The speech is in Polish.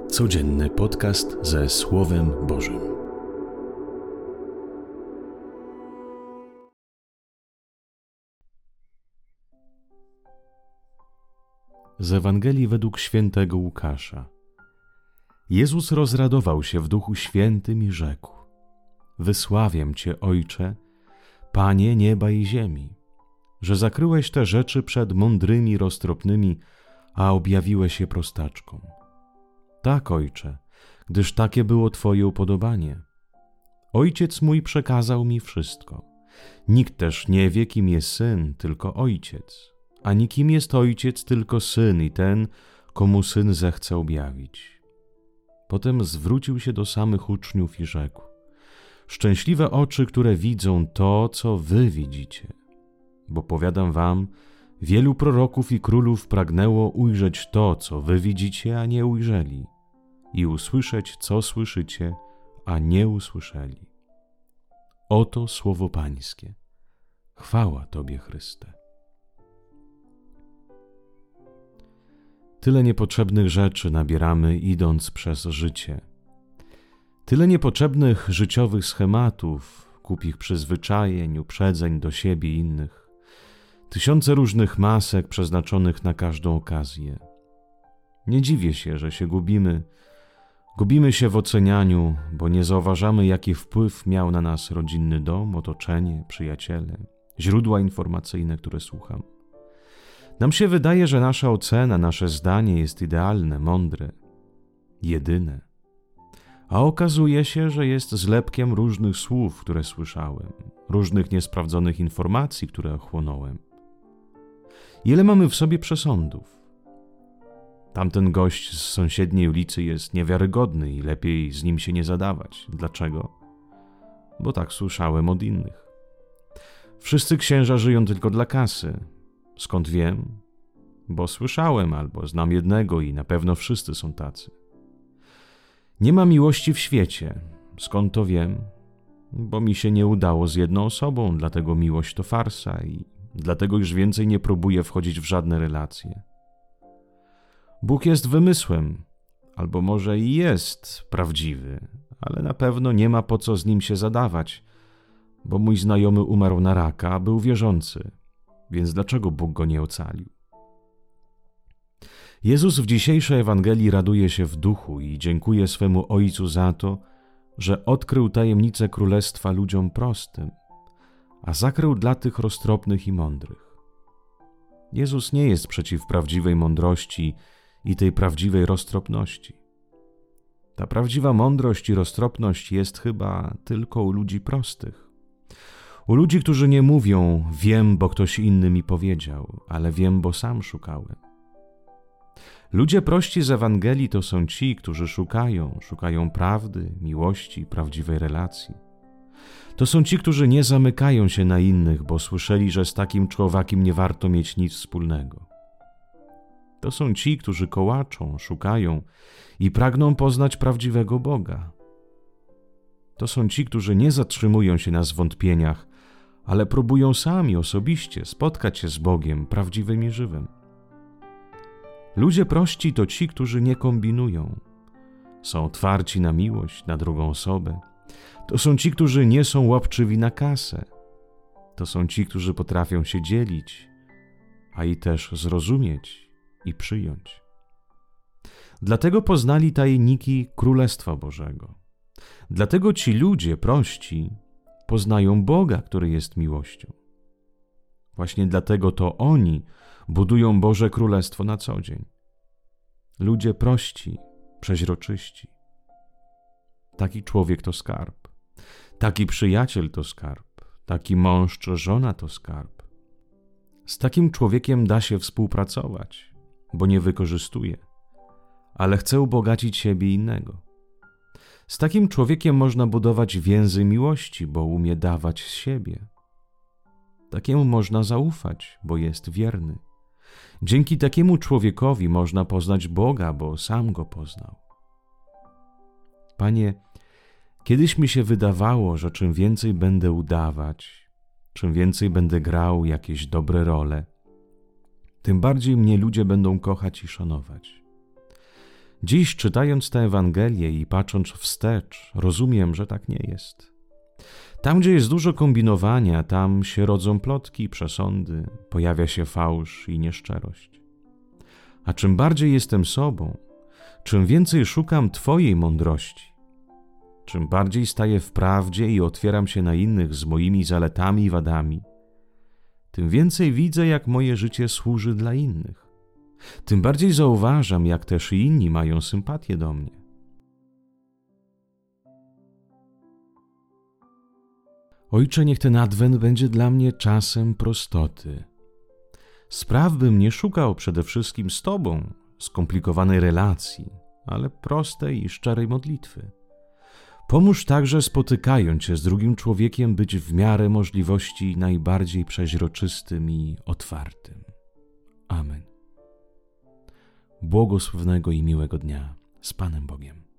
Codzienny podcast ze Słowem Bożym. Z Ewangelii według świętego Łukasza. Jezus rozradował się w Duchu Świętym i rzekł: Wysławiam Cię, Ojcze, Panie nieba i ziemi, że zakryłeś te rzeczy przed mądrymi, roztropnymi, a objawiłeś je prostaczkom. Tak, Ojcze, gdyż takie było Twoje upodobanie. Ojciec mój przekazał mi wszystko. Nikt też nie wie, kim jest Syn, tylko Ojciec, ani kim jest Ojciec, tylko Syn i ten, komu Syn zechce objawić. Potem zwrócił się do samych uczniów i rzekł: Szczęśliwe oczy, które widzą to, co wy widzicie. Bo powiadam wam, wielu proroków i królów pragnęło ujrzeć to, co wy widzicie, a nie ujrzeli, i usłyszeć, co słyszycie, a nie usłyszeli. Oto słowo Pańskie. Chwała Tobie, Chryste. Tyle niepotrzebnych rzeczy nabieramy, idąc przez życie. Tyle niepotrzebnych życiowych schematów, głupich przyzwyczajeń, uprzedzeń do siebie i innych. Tysiące różnych masek przeznaczonych na każdą okazję. Nie dziwię się, że się gubimy. Gubimy się w ocenianiu, bo nie zauważamy, jaki wpływ miał na nas rodzinny dom, otoczenie, przyjaciele, źródła informacyjne, które słucham. Nam się wydaje, że nasza ocena, nasze zdanie jest idealne, mądre, jedyne. A okazuje się, że jest zlepkiem różnych słów, które słyszałem, różnych niesprawdzonych informacji, które ochłonąłem. Ile mamy w sobie przesądów? Tamten gość z sąsiedniej ulicy jest niewiarygodny i lepiej z nim się nie zadawać. Dlaczego? Bo tak słyszałem od innych. Wszyscy księża żyją tylko dla kasy. Skąd wiem? Bo słyszałem albo znam jednego i na pewno wszyscy są tacy. Nie ma miłości w świecie. Skąd to wiem? Bo mi się nie udało z jedną osobą, dlatego miłość to farsa i dlatego już więcej nie próbuję wchodzić w żadne relacje. Bóg jest wymysłem, albo może i jest prawdziwy, ale na pewno nie ma po co z nim się zadawać, bo mój znajomy umarł na raka, a był wierzący, więc dlaczego Bóg go nie ocalił? Jezus w dzisiejszej Ewangelii raduje się w duchu i dziękuje swemu Ojcu za to, że odkrył tajemnicę Królestwa ludziom prostym, a zakrył dla tych roztropnych i mądrych. Jezus nie jest przeciw prawdziwej mądrości i tej prawdziwej roztropności. Ta prawdziwa mądrość i roztropność jest chyba tylko u ludzi prostych. U ludzi, którzy nie mówią: wiem, bo ktoś inny mi powiedział, ale wiem, bo sam szukałem. Ludzie prości z Ewangelii to są ci, którzy szukają prawdy, miłości, prawdziwej relacji. To są ci, którzy nie zamykają się na innych, bo słyszeli, że z takim człowiekiem nie warto mieć nic wspólnego. To są ci, którzy kołaczą, szukają i pragną poznać prawdziwego Boga. To są ci, którzy nie zatrzymują się na zwątpieniach, ale próbują sami osobiście spotkać się z Bogiem prawdziwym i żywym. Ludzie prości to ci, którzy nie kombinują. Są otwarci na miłość, na drugą osobę. To są ci, którzy nie są łapczywi na kasę. To są ci, którzy potrafią się dzielić, a i też zrozumieć i przyjąć. Dlatego poznali tajniki Królestwa Bożego. Dlatego ci ludzie prości poznają Boga, który jest miłością. Właśnie dlatego to oni budują Boże Królestwo na co dzień. Ludzie prości, przeźroczyści. Taki człowiek to skarb. Taki przyjaciel to skarb. Taki mąż czy żona to skarb. Z takim człowiekiem da się współpracować, bo nie wykorzystuje, ale chce ubogacić siebie i innego. Z takim człowiekiem można budować więzy miłości, bo umie dawać z siebie. Takiemu można zaufać, bo jest wierny. Dzięki takiemu człowiekowi można poznać Boga, bo sam Go poznał. Panie, kiedyś mi się wydawało, że czym więcej będę udawać, czym więcej będę grał jakieś dobre role, tym bardziej mnie ludzie będą kochać i szanować. Dziś, czytając tę Ewangelię i patrząc wstecz, rozumiem, że tak nie jest. Tam, gdzie jest dużo kombinowania, tam się rodzą plotki i przesądy, pojawia się fałsz i nieszczerość. A czym bardziej jestem sobą, czym więcej szukam Twojej mądrości, czym bardziej staję w prawdzie i otwieram się na innych z moimi zaletami i wadami, tym więcej widzę, jak moje życie służy dla innych. Tym bardziej zauważam, jak też i inni mają sympatię do mnie. Ojcze, niech ten Adwent będzie dla mnie czasem prostoty. Spraw, bym nie szukał przede wszystkim z Tobą skomplikowanej relacji, ale prostej i szczerej modlitwy. Pomóż także, spotykając się z drugim człowiekiem, być w miarę możliwości najbardziej przeźroczystym i otwartym. Amen. Błogosławnego i miłego dnia z Panem Bogiem.